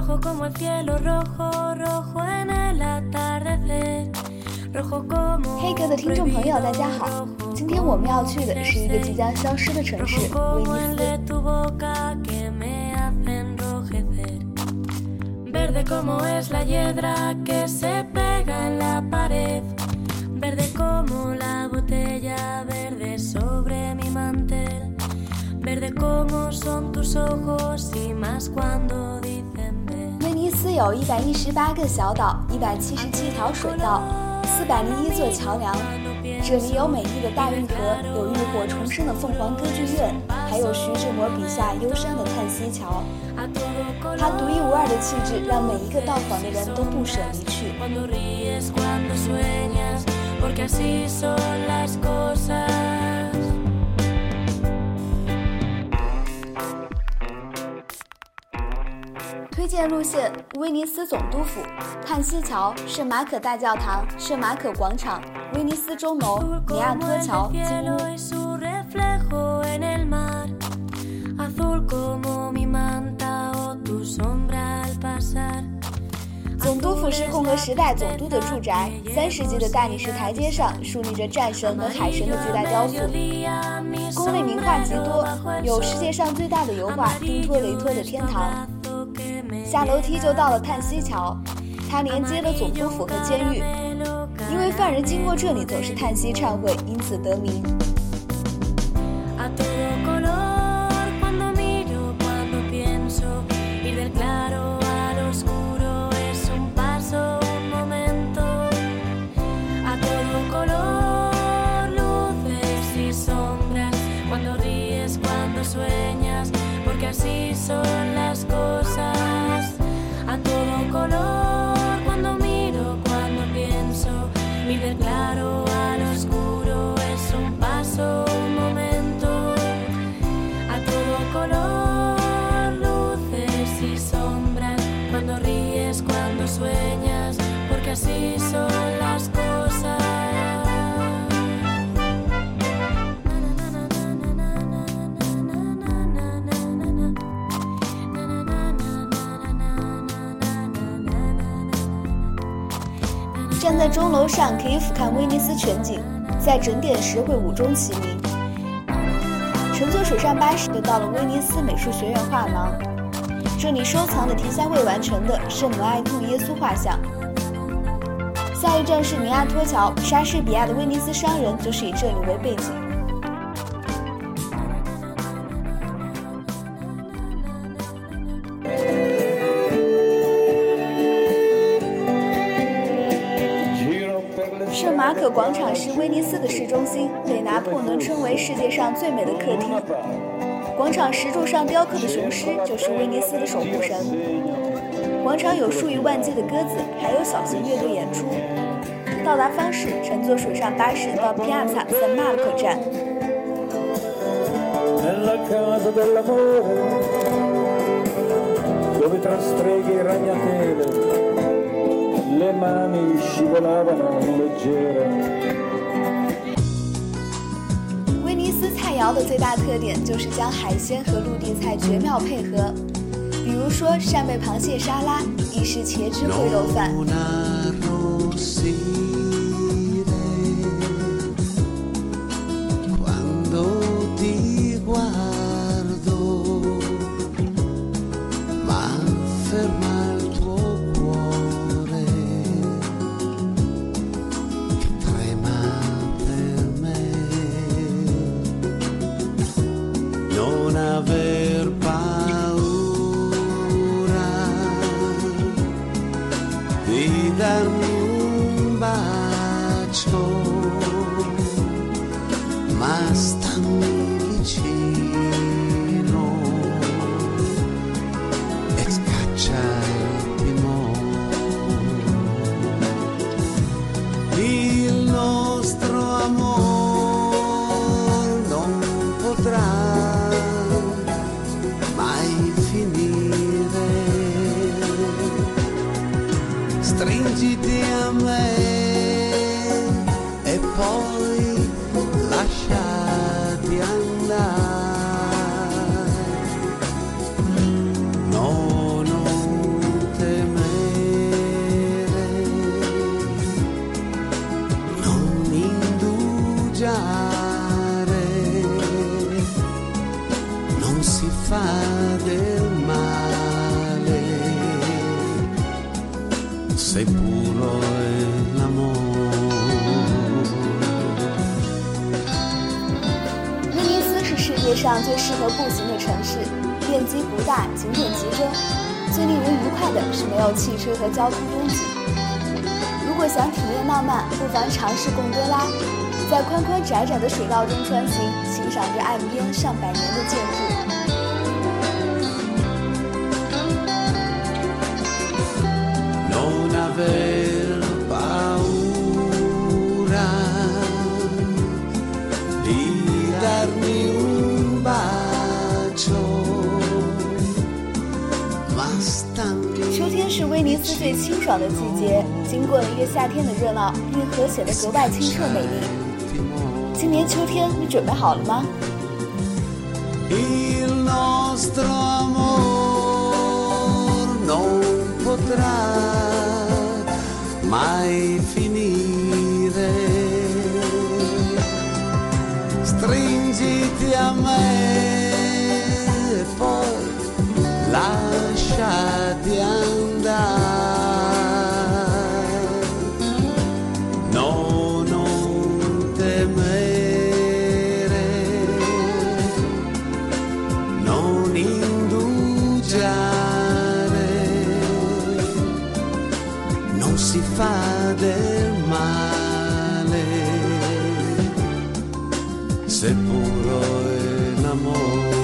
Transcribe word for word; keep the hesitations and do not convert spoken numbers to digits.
rojo como el cielo rojo, rojo en el atardecer, rojo como 黑格的听众朋友大家好，今天我们要去的是一个即将消失的城市威尼斯。 Verde como es la hiedra que se pega en la pared, verde como la botella verde sobre mi mantel, verde como son tus ojos y más cuando dicen ven。 威尼斯有一百一十八个小岛，一百七十七条水道，四百零一座桥梁。这里有美丽的大运河，有浴火重生的凤凰歌剧院，还有徐志摩笔下忧伤的叹息桥。它独一无二的气质让每一个到访的人都不舍离去。推荐路线：威尼斯总督府、叹息桥、圣马可大教堂、圣马可广场、威尼斯钟楼、尼亚托桥、金屋。总督府是共和时代总督的住宅，三世纪的大理石台阶上竖立着战神和海神的巨大雕塑，宫内名画极多，有世界上最大的油画丁托雷托的天堂。下楼梯就到了叹息桥，它连接了总督府和监狱，因为犯人经过这里总是叹息忏悔，因此得名。站在钟楼上可以俯瞰威尼斯全景，在整点时会五钟齐鸣。乘坐水上巴士就到了威尼斯美术学院画廊，这里收藏的题材未完成的圣母爱痛耶稣画像。下一站是尼亚托桥，莎士比亚的《威尼斯商人》就是以这里为背景。圣马可广场是威尼斯的市中心，被拿破仑称为世界上最美的客厅。广场石柱上雕刻的雄狮就是威尼斯的守护神。广场有数以万计的鸽子，还有小型乐队演出。到达方式：乘坐水上巴士到 Piazza San Marco 站。威尼斯菜肴的最大特点就是将海鲜和陆地菜绝妙配合，比如说扇贝螃蟹沙拉、意式茄汁烩肉饭。 Stringiti a me e poi lasciati andare. No, no, 样最适合步行的城市，面积不大，景点集中。最令人愉快的是没有汽车和交通拥挤。如果想体验浪漫，不妨尝试贡多拉，在宽宽窄窄的水道中穿行，欣赏着岸边上百年的建筑。 Non aver paura di darmi un bacio, bastami. 秋天是威尼斯最清爽的季节，经过了一个夏天的热闹，运河显得格外清澈美丽。今年秋天你准备好了吗？ Il nostro amor non potrà mai finire. Stringiti a me e poi lasciati andare. No, non temere, non indugiare, non si fa del male se puro è l'amore.